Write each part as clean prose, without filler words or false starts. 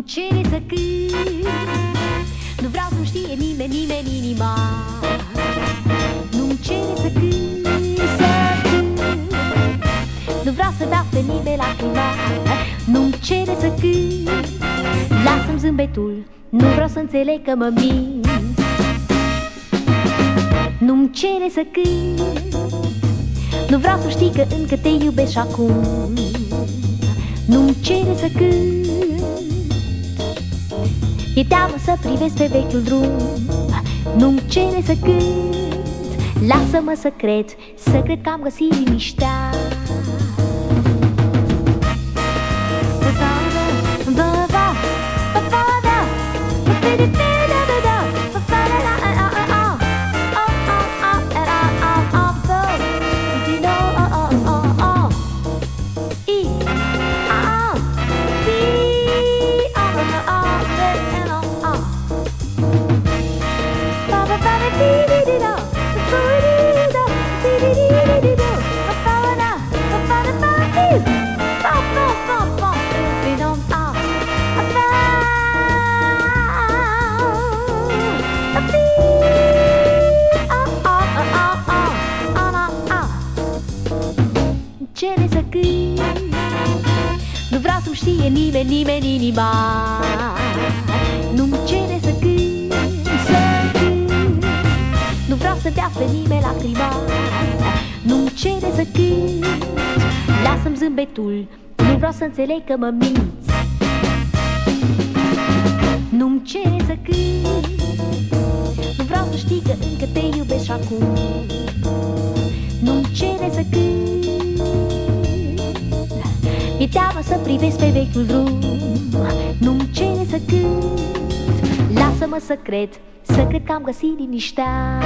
Nu-mi cere să cânt, nu vreau să-mi știe nimeni, nimeni inima. Nu-mi cere să cânt, să cânt, nu vreau să dau pe nimeni lacrima. Nu-mi cere să cânt, lasă-mi zâmbetul, nu vreau să înțeleg că mă mint. Nu-mi cere să cânt, nu vreau să știi că încă te iubesc și acum. Nu-mi cere să cânt, e teamă să privesc pe vechiul drum. Nu-mi cere să cânt, lasă-mă să cred că am găsit liniștea. Cere să cânt, nu vreau să-mi știe nimeni, nimeni inima. Nu-mi cere să cânt, să cânt, nu vreau să dea pe nimeni lacrima. Nu-mi cere să cânt, lasă-mi zâmbetul, nu vreau să înțeleg că mă minți. Nu-mi cere să cânt, nu vreau să știi că încă te iubesc și acum. Nu-mi cere să cânt, mi-e teamă să privesc pe vechiul drum. Nu-mi cere să cânt, lasă-mă să cred că am găsit liniștea.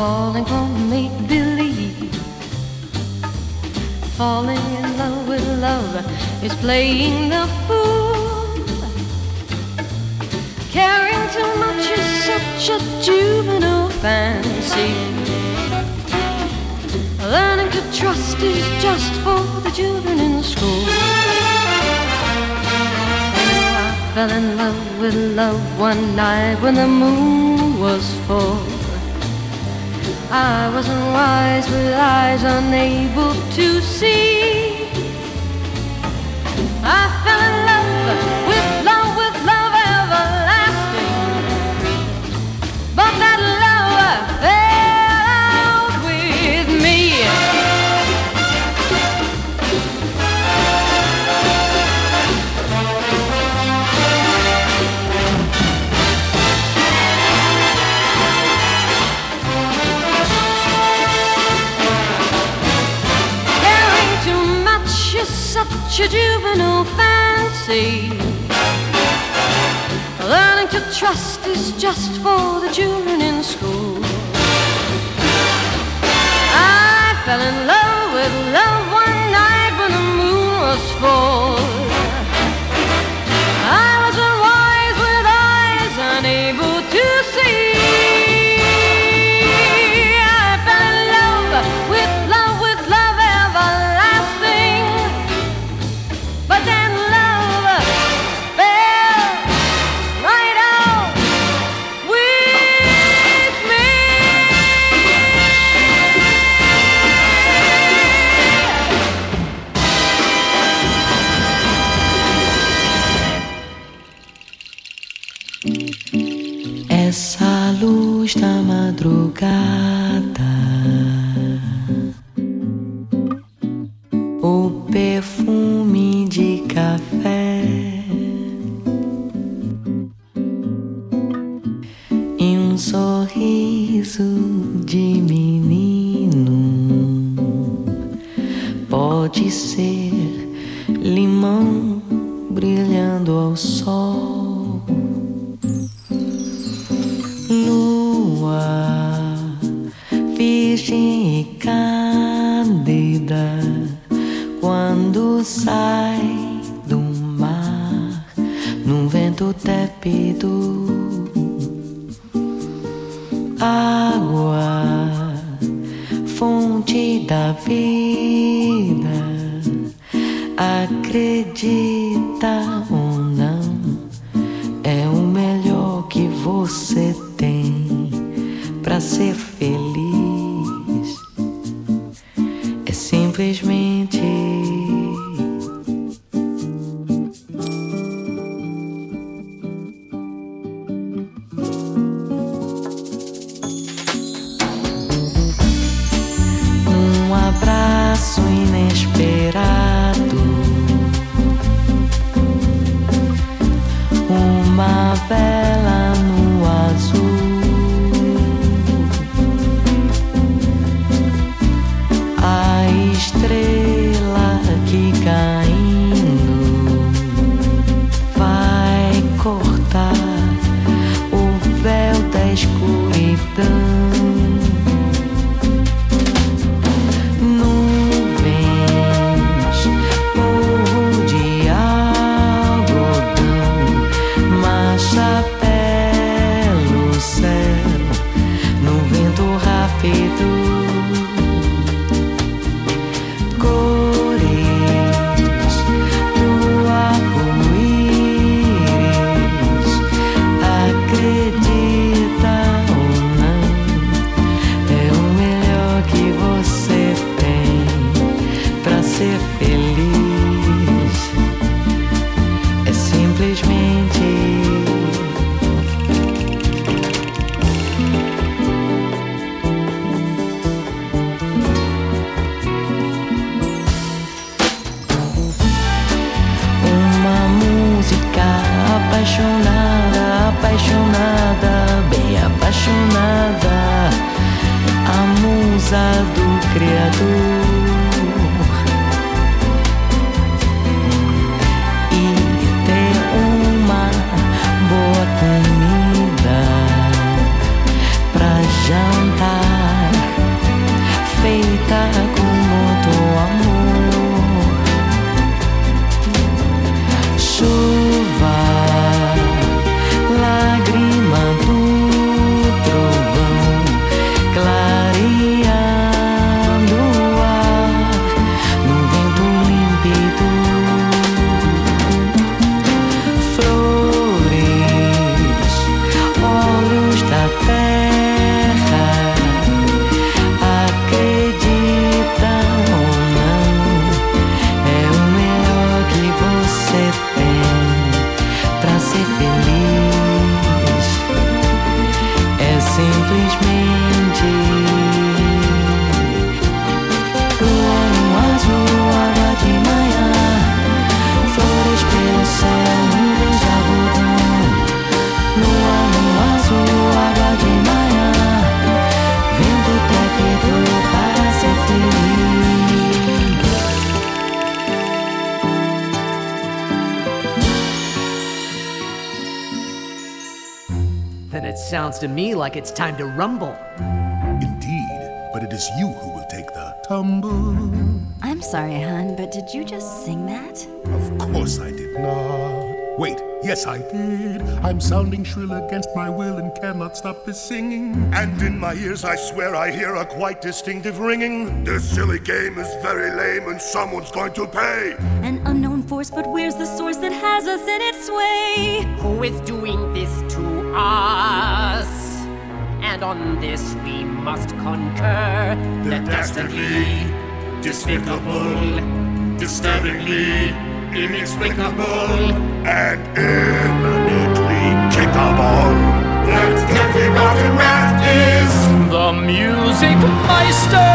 falling for make-believe. Falling in love with love is playing the fool. Caring too much is such a juvenile fancy. Learning to trust is just for the children in school. I fell in love with love one night when the moon was full. I wasn't wise with eyes unable to see. I fell in love with love everlasting. But that love fell out with me. Such a juvenile fancy. Learning to trust is just for the children in school. I fell in love with love one night when the moon was full. I was unwise with eyes unable to see. I fell in love with love everlasting. But then love fell right out with me. Essa luz da madrugada, o perfume de café e um sorriso de menino. Pode ser limão brilhando ao sol, lua virgem e cândida quando sai do mar num vento tépido. Água, fonte da vida, acredita ou não, é o melhor que você tem pra ser feliz. É simplesmente um abraço inesperado, uma vela no azul, a estrela que caindo vai cortar o véu da escuridão. Apaixonada, bem apaixonada, a musa do Criador. E ter uma boa comida pra jantar acredita como tu amor. Chuva, lágrima do trovão, clareando o ar no vento límpido. Flores, olhos da terra, acreditam ou não, é o melhor que você tem pra ser feliz. É simplesmente lua no azul, água de manhã, flores pelo céu, nuvens de algodão. Lua no azul, água de manhã, vento tépido para ser feliz. Then it sounds to me like it's time to rumble. Indeed, but it is you who will take the tumble. I'm sorry, hon, but did you just sing that? Of course I did not. Wait, yes I did. I'm sounding shrill against my will and cannot stop this singing. And in my ears I swear I hear a quite distinctive ringing. This silly game is very lame and someone's going to pay. An unknown force, but where's the source that has us in its sway? Who is doing this to us? And on this we must concur. The dastardly, despicable, disturbingly inexplicable, and imminently kickable. That deadly rotten rat is The Music Meister!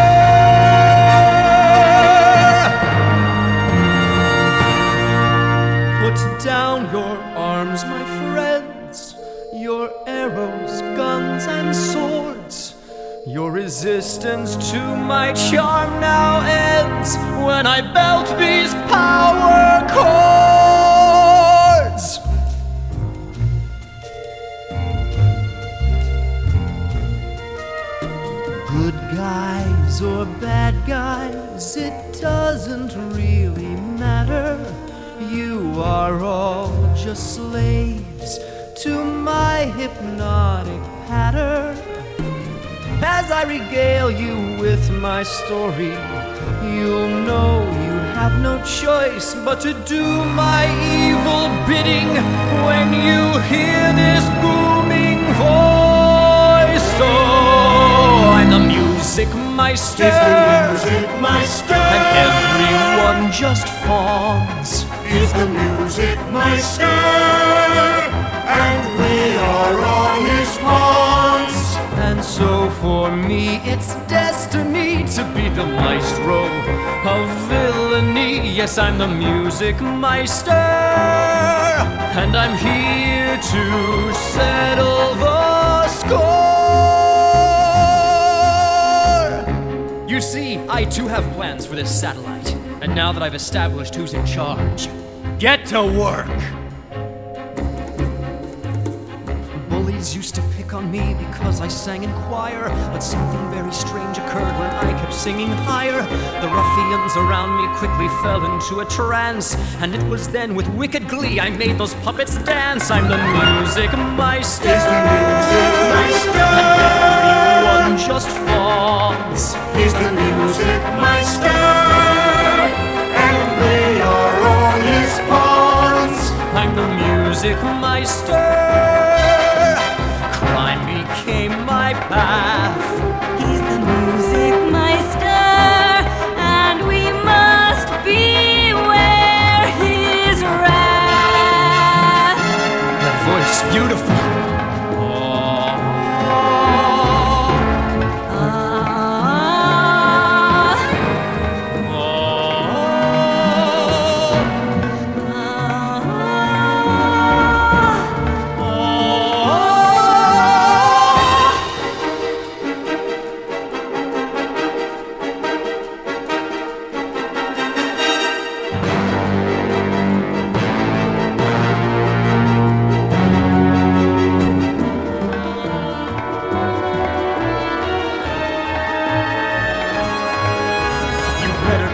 Put down your arms, my friends, your arrows, guns, and swords. Your resistance to my charm now ends when I belt these power chords. Good guys or bad guys, it doesn't really matter. You are all just slaves to my hypnotic patter. As I regale you with my story, you'll know you have no choice but to do my evil bidding when you hear this booming voice. Oh, I'm the Music Meister, and everyone just fawns. He's the Music Meister, and we are all his pawns. And so for me it's destiny to be the maestro of villainy. Yes, I'm the Music Meister, and I'm here to settle the score. You see, I too have plans for this satellite, and now that I've established who's in charge, get to work. Bullies used to pick on me because I sang in choir, but something very strange occurred when I kept singing higher. The ruffians around me quickly fell into a trance, and it was then with wicked glee I made those puppets dance. I'm the Music Meister, and everyone just fawns. He's the Music Meister, and we are all his pawns. I'm the Music Meister. Crime became my path. He's the Music Meister, and we must beware his wrath. That voice is beautiful.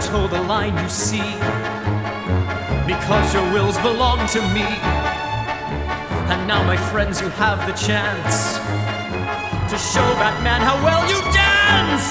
toe the line you see, because your wills belong to me. And now, my friends, you have the chance to show Batman how well you dance!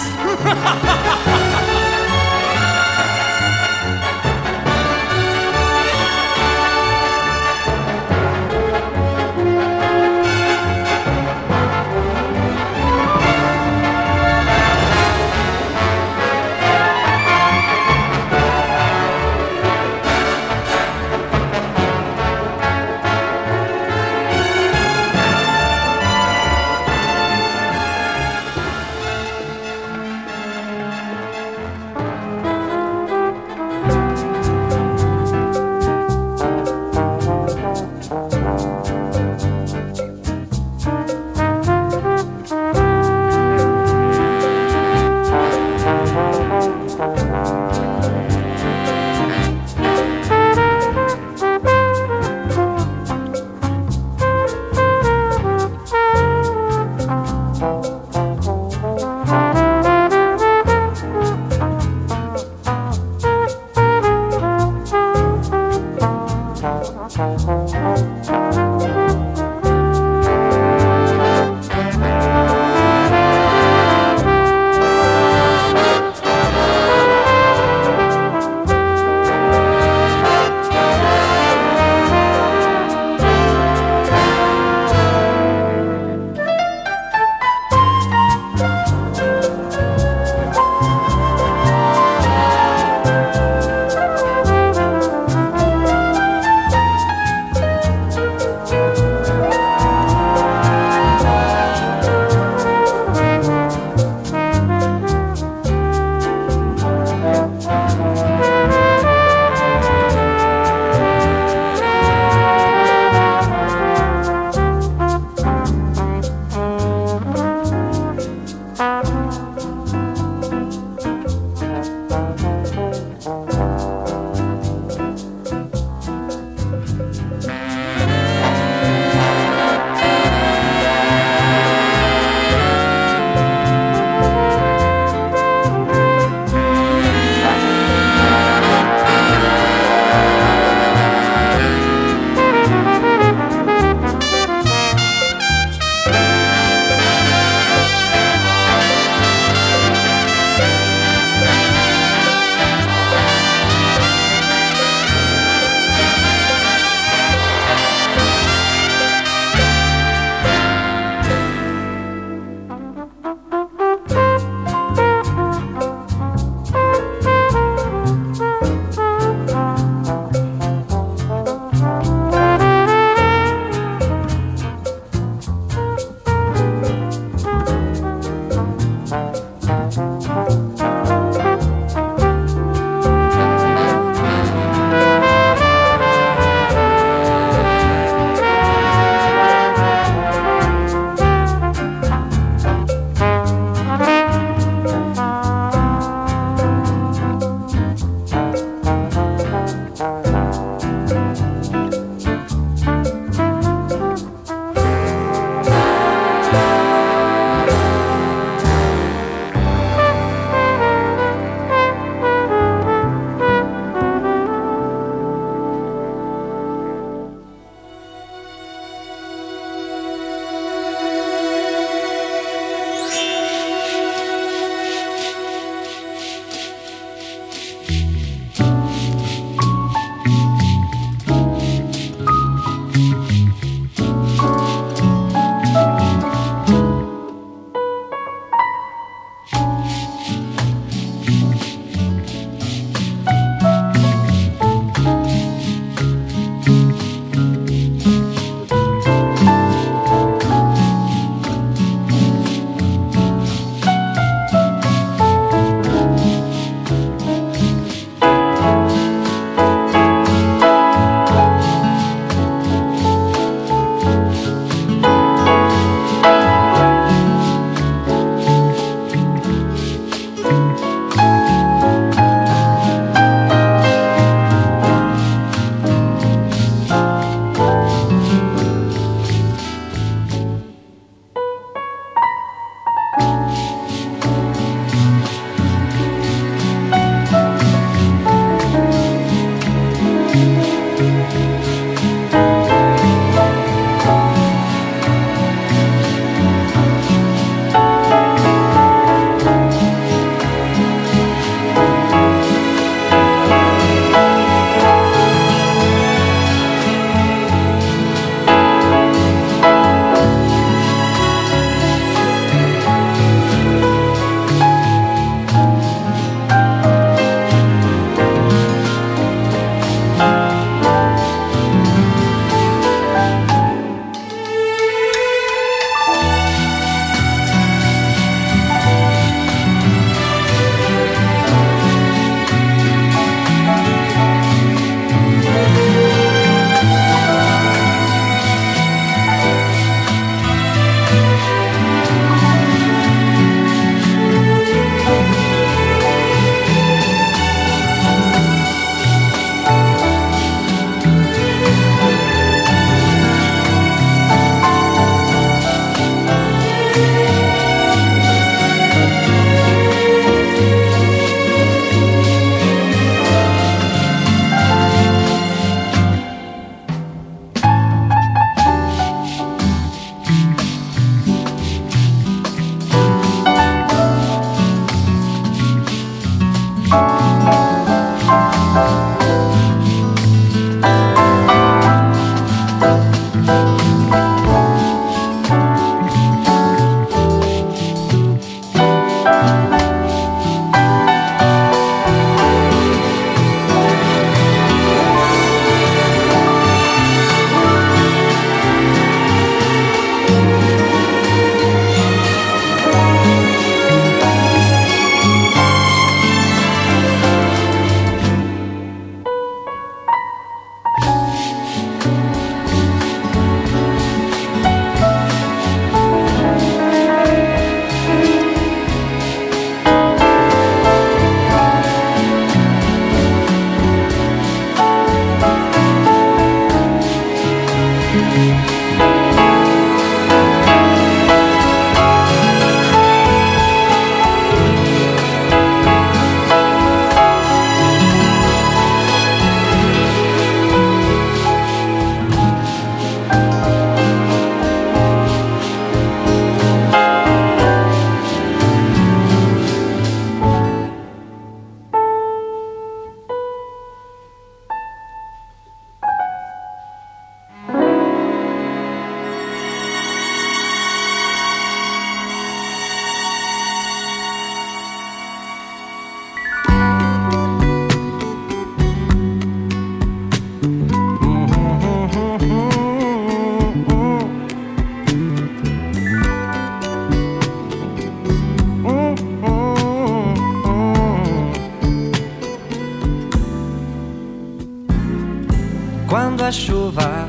Quando a chuva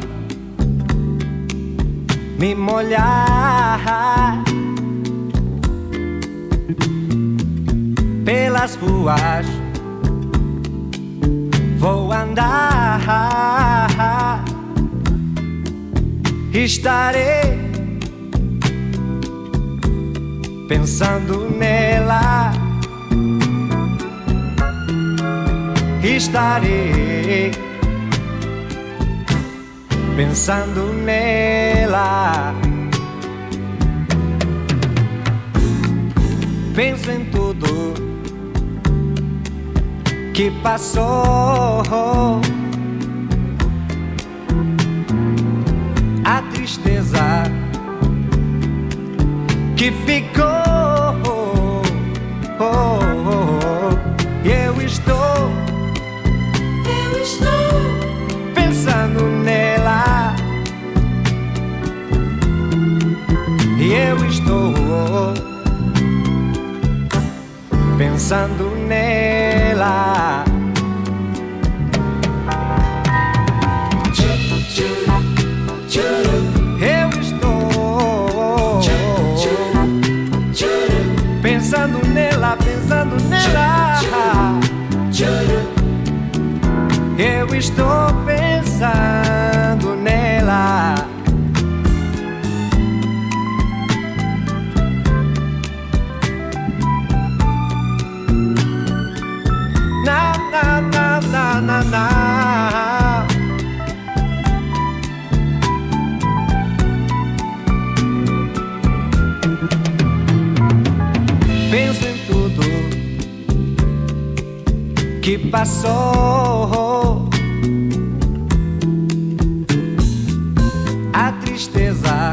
me molhar pelas ruas, vou andar, estarei pensando nela, estarei pensando nela. Penso em tudo que passou, a tristeza que ficou, e eu estou pensando nela, e eu estou pensando nela. Eu estou pensando nela, pensando nela. Eu estou pensando nela. Na na na na na na. Penso em tudo que passou, a tristeza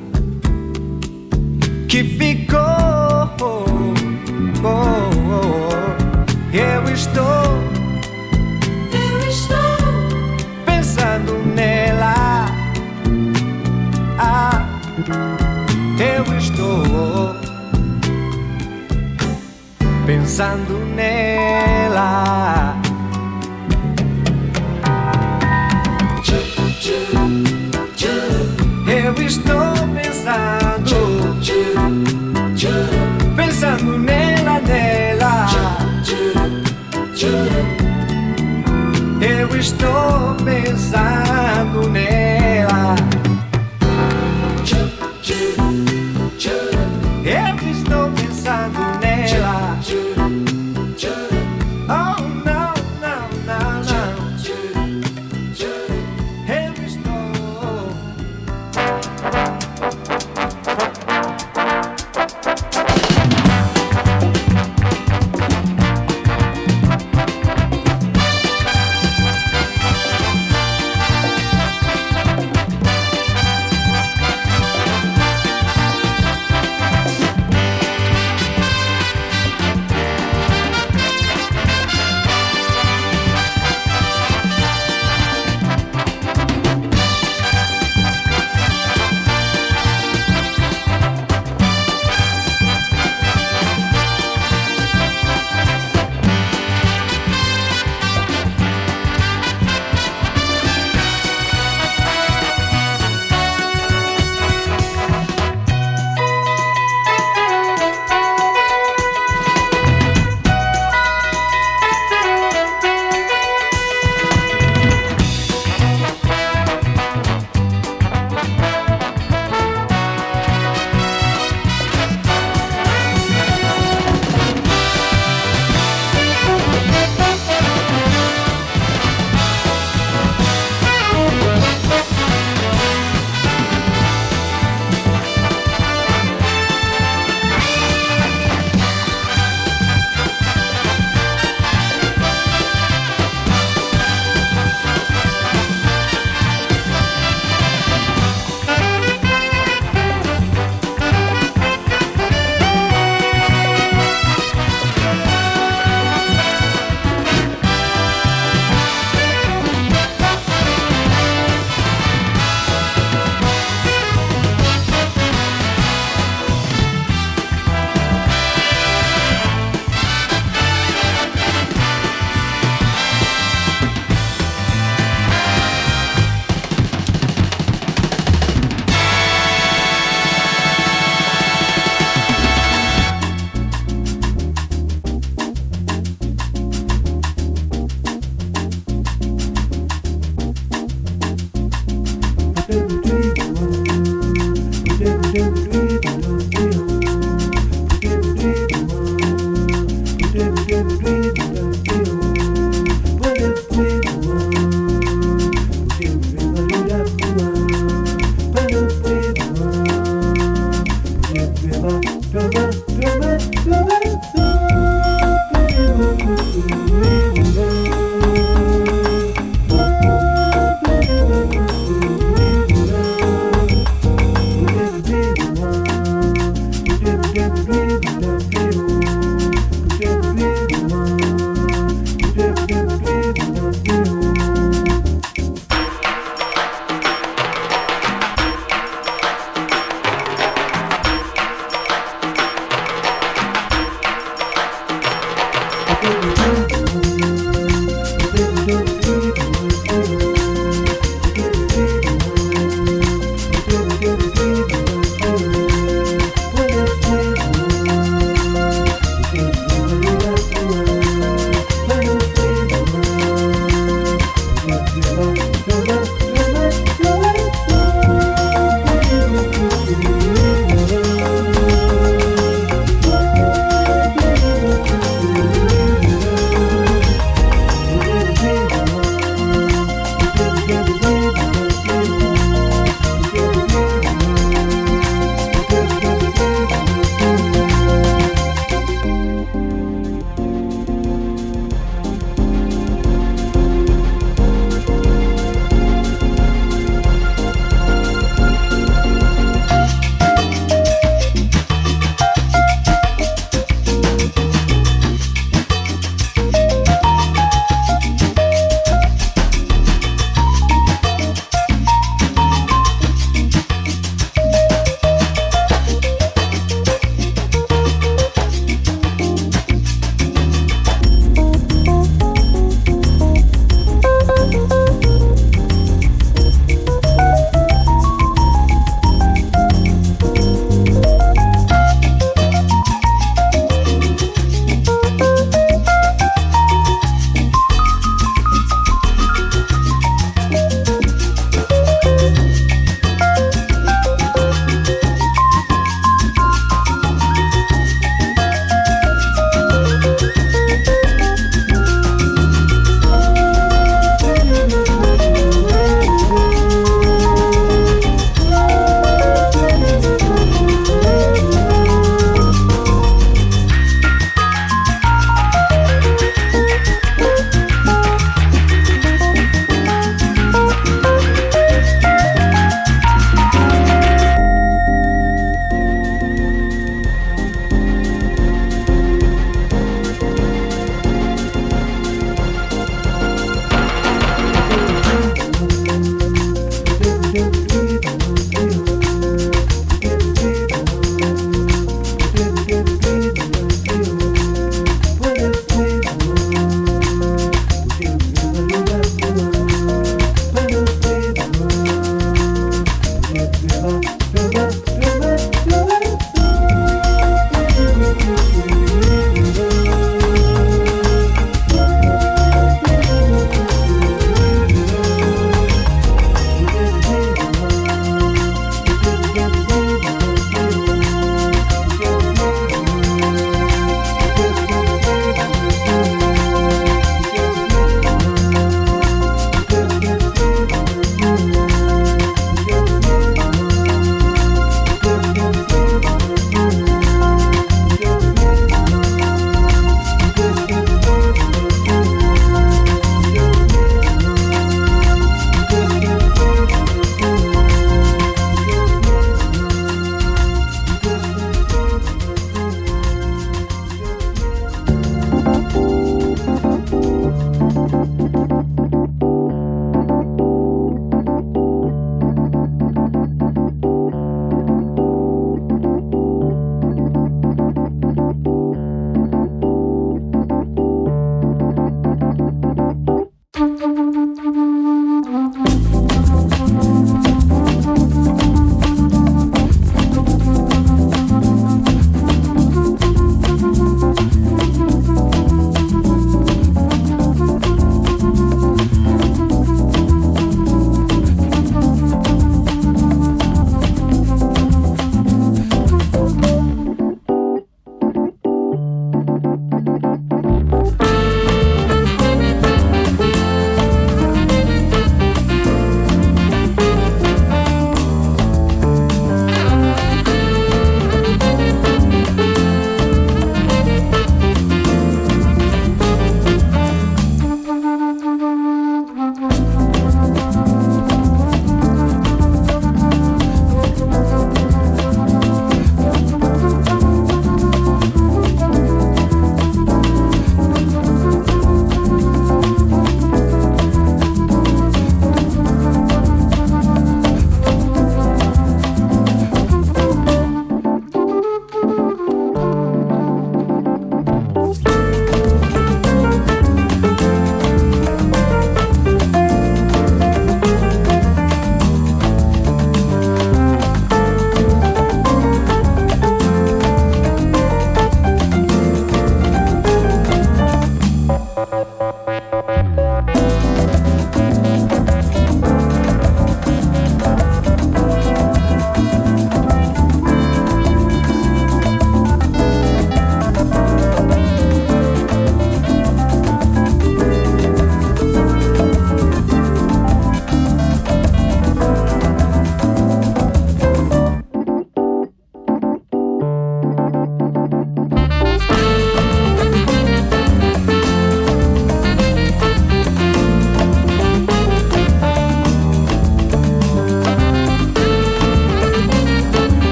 que ficou, eu estou pensando nela, eu estou pensando nela. Eu estou pensando nela, nela. Eu estou pensando nela. Eu estou pensando nela. Oh, não, não, não, não. Eu estou.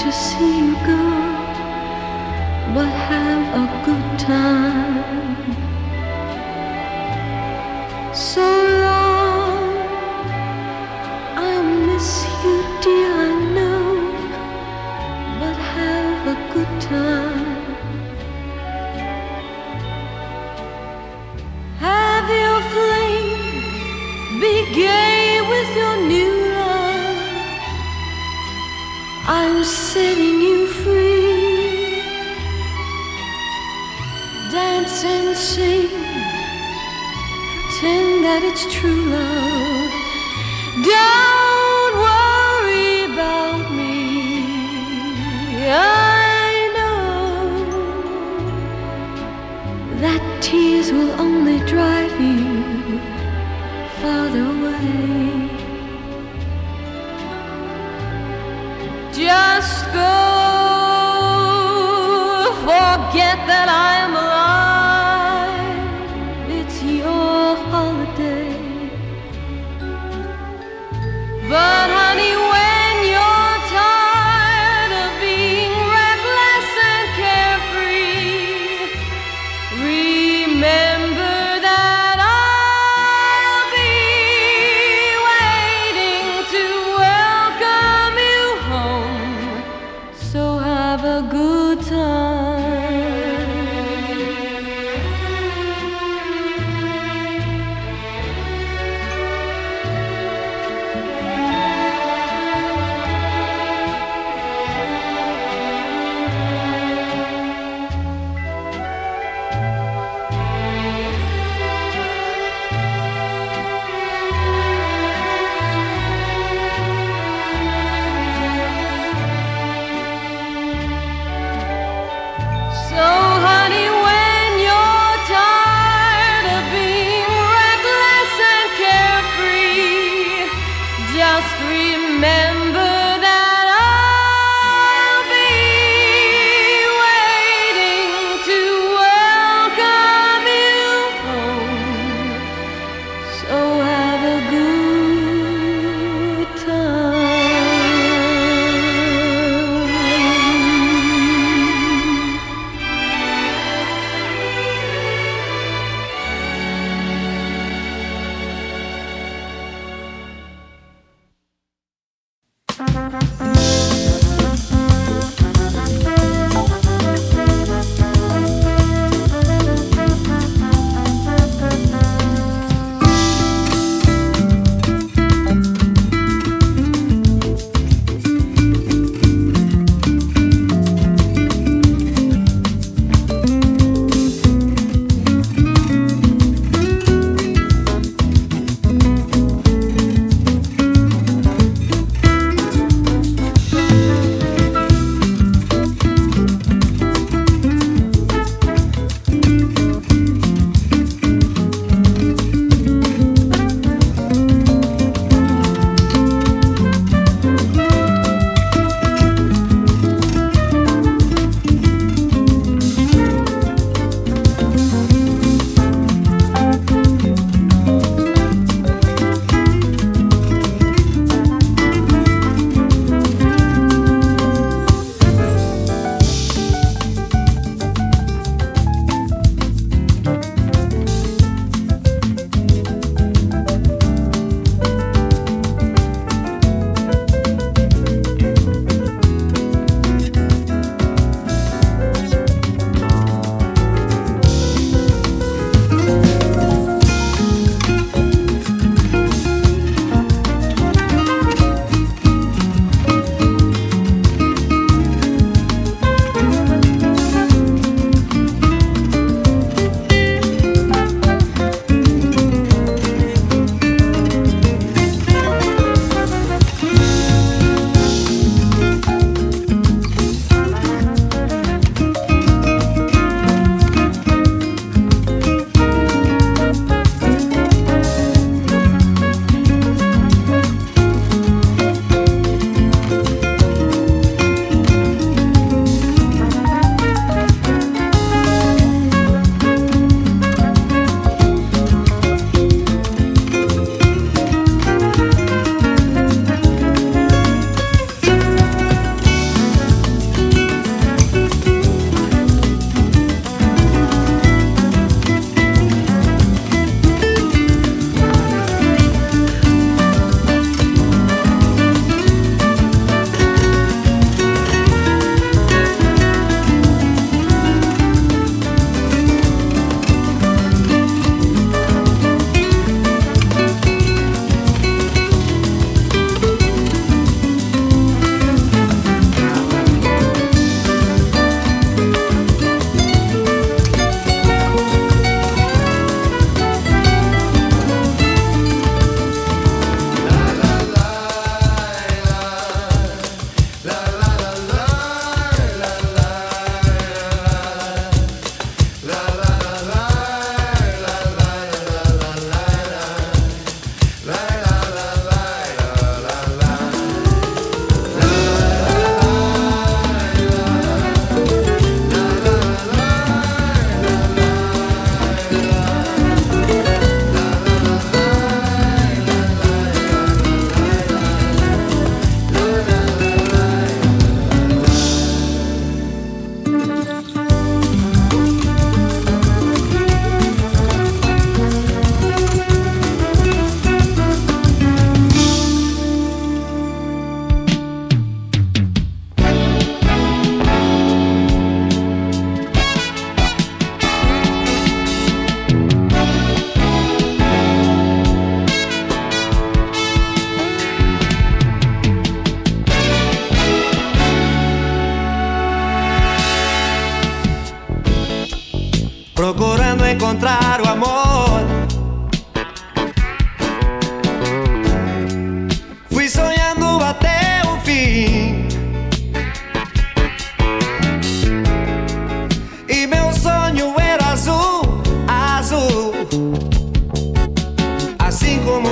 to see you go, but have a good time. So long, I miss you, dear, I know, but have a good time. Have your flame, be gay with your new love. I'm setting you free. Dance and sing, pretend that it's true love. Don't worry about me. I know that tears will only drive you farther away. Just go, forget that I am alive. It's your holiday. But honey, when you're tired of being reckless and carefree, remember that I'll be waiting to welcome you home. So have a good time.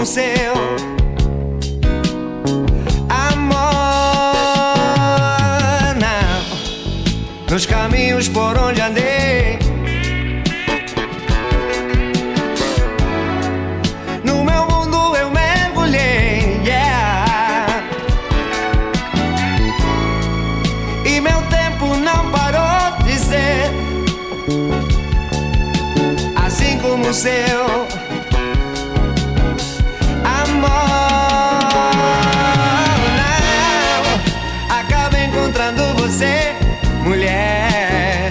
como seu amor. Não, nos caminhos por onde andei, no meu mundo eu mergulhei, yeah. E meu tempo não parou de ser, assim como o seu amor. Não, acabo encontrando você, mulher,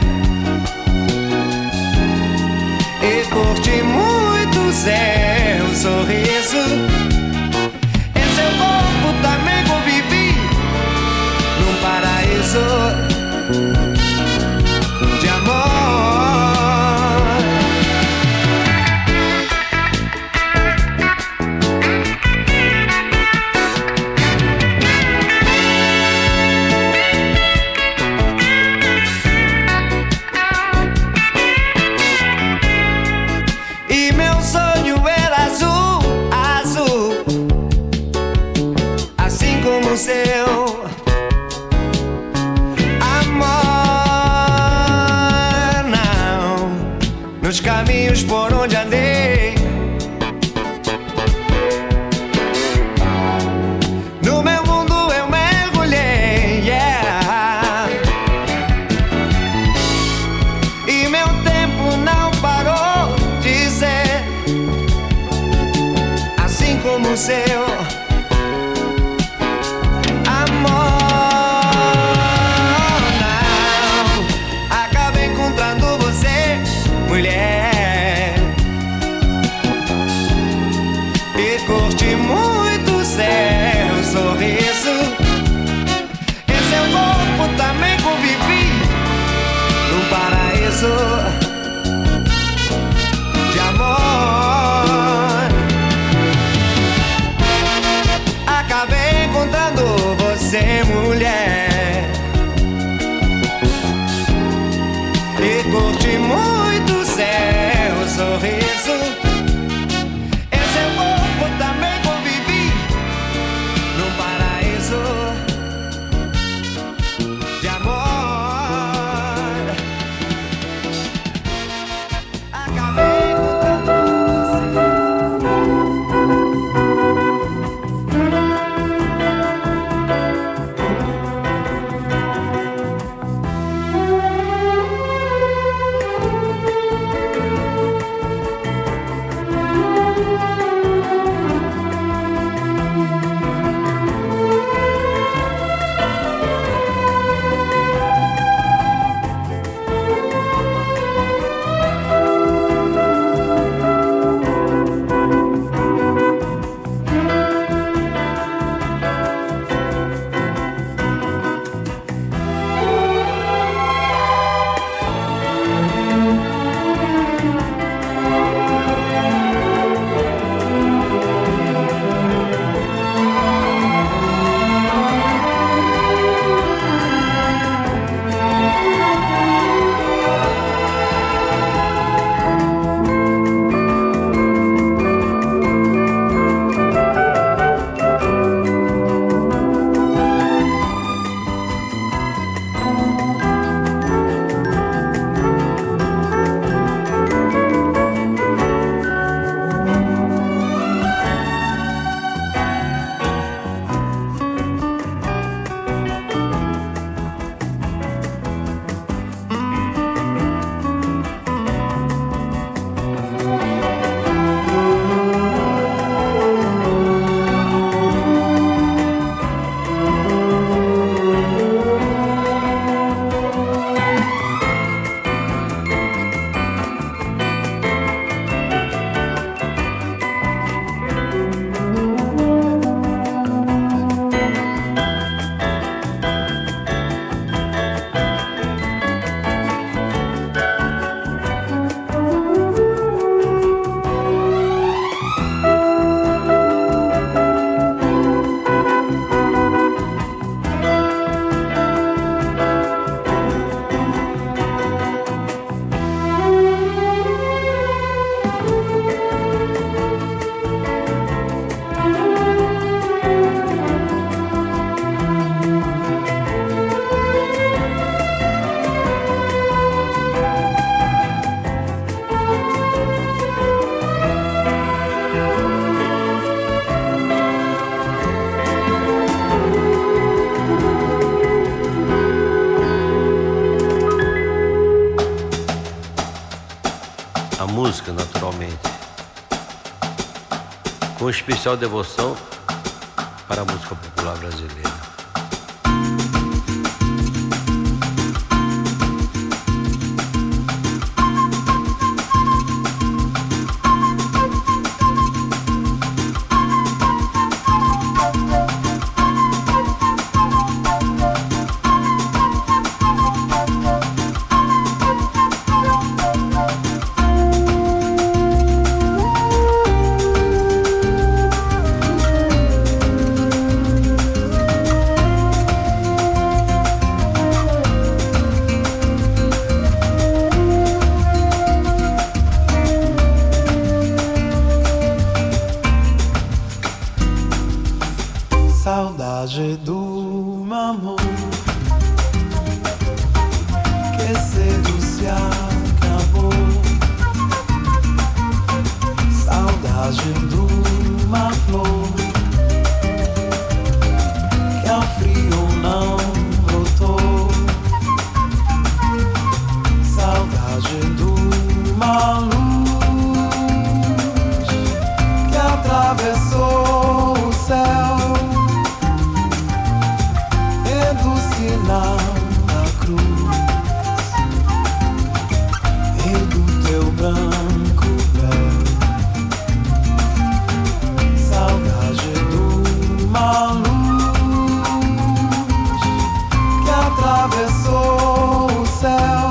e curti muito seu sorriso. Em seu corpo também convivi num paraíso de amor. E meu sonho era azul, azul, assim como o seu amor. Não, nos caminhos por onde andei, no meu mundo eu mergulhei, yeah. E meu tempo não parou de ser, assim como o seu amor. Não, acabo encontrando você, mulher, e curti muito seu sorriso. Em seu corpo também convivi num paraíso de amor. Acabei encontrando você, mulher, e curti muito seu sorriso. Em seu corpo também convivi num paraíso de amor. música, naturalmente, com especial devoção para a música popular brasileira. Saudade do amor que cedo se acabou. Saudade de uma flor que ao frio não brotou. Saudade de uma luz que atravessou o céu. Sinal da cruz e do teu branco véu. Saudade de uma luz que atravessou o céu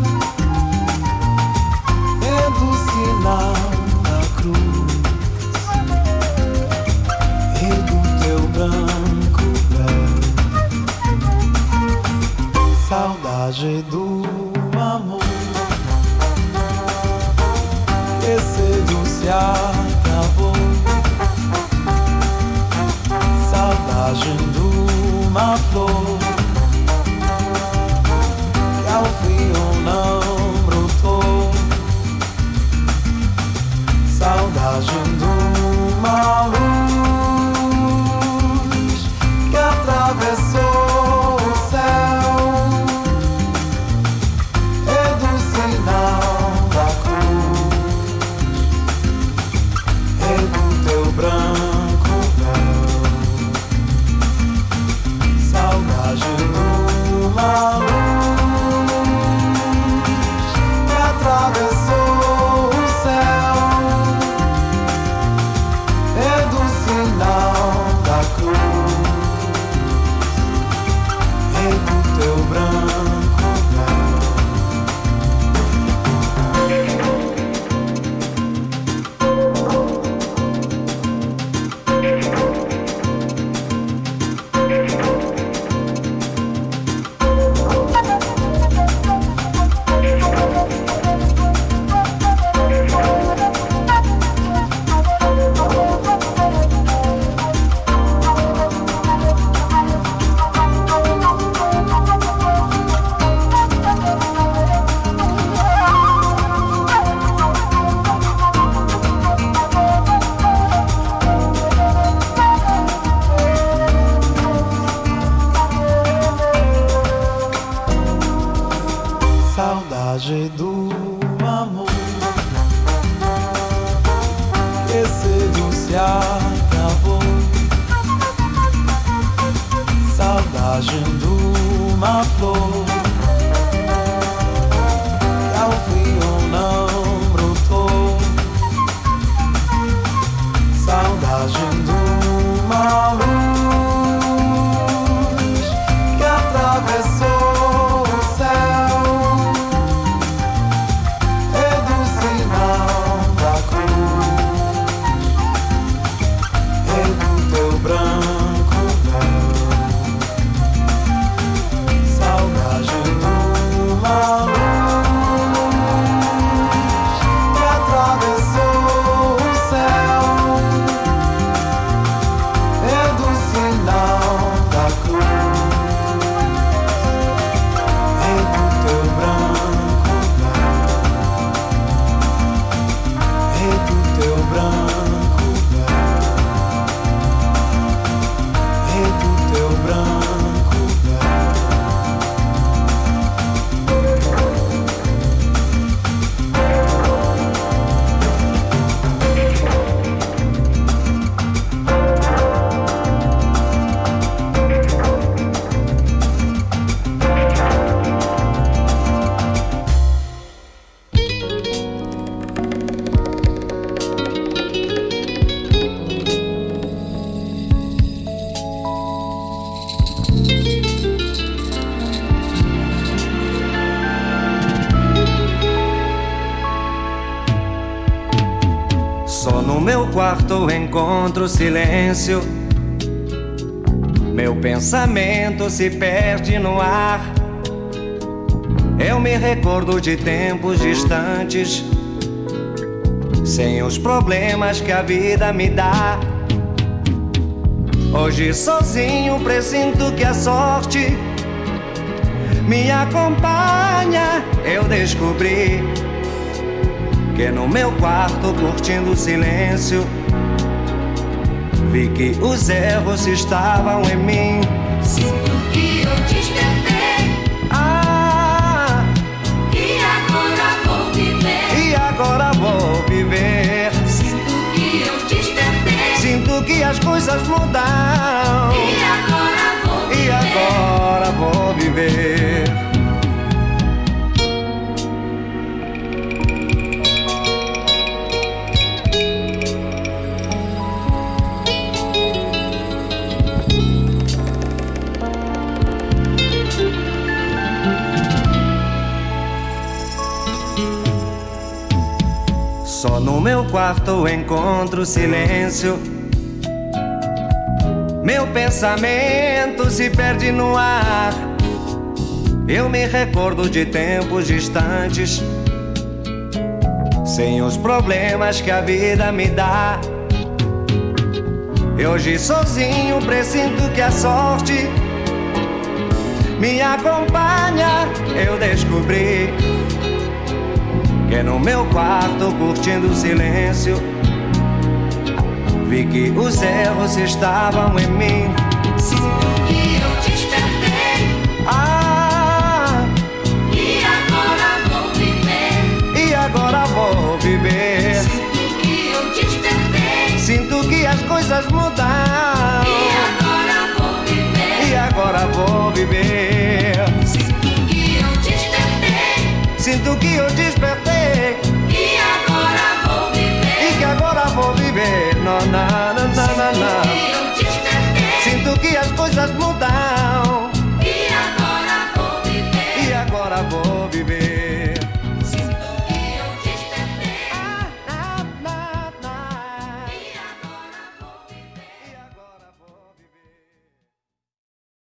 e do sinal da cruz e do teu branco véu. Saudade do amor que cedo se acabou. Saudade de uma flor que ao frio não brotou. Saudade de uma luz que atravessou o céu. Branco véu. Saudade de uma luz que atravessou o céu e do sinal da cruz e do teu branco véu. Saudade do amor que cedo se acabou. Saudade de uma flor que ao frio não brotou. Saudade de uma luz que atravessou o céu. Branco véu. Saudade de uma luz que atravessou o céu meu quarto encontro silêncio. Meu pensamento se perde no ar. Eu me recordo de tempos distantes, sem os problemas que a vida me dá. Hoje sozinho presinto que a sorte me acompanha. Eu descobri que no meu quarto, curtindo o silêncio, vi que os erros estavam em mim. Sinto que eu despertei. E agora vou viver. E agora vou viver. Sinto que eu despertei. Sinto que as coisas mudam. E agora vou viver. E agora vou viver. Só no meu quarto encontro silêncio. Meu pensamento se perde no ar. Eu me recordo de tempos distantes, sem os problemas que a vida me dá. E hoje sozinho presinto que a sorte me acompanha. Eu descobri que no meu quarto, curtindo o silêncio, vi que os erros estavam em mim. Sinto que eu despertei. E agora vou viver. E agora vou viver. Sinto que eu despertei. Sinto que as coisas mudaram. E agora vou viver. E agora vou viver. Sinto que eu despertei. Sinto que eu despertei. E agora vou viver. E que agora vou viver. Não, não, não, não, não. Sinto que eu despertei. Sinto que as coisas mudaram.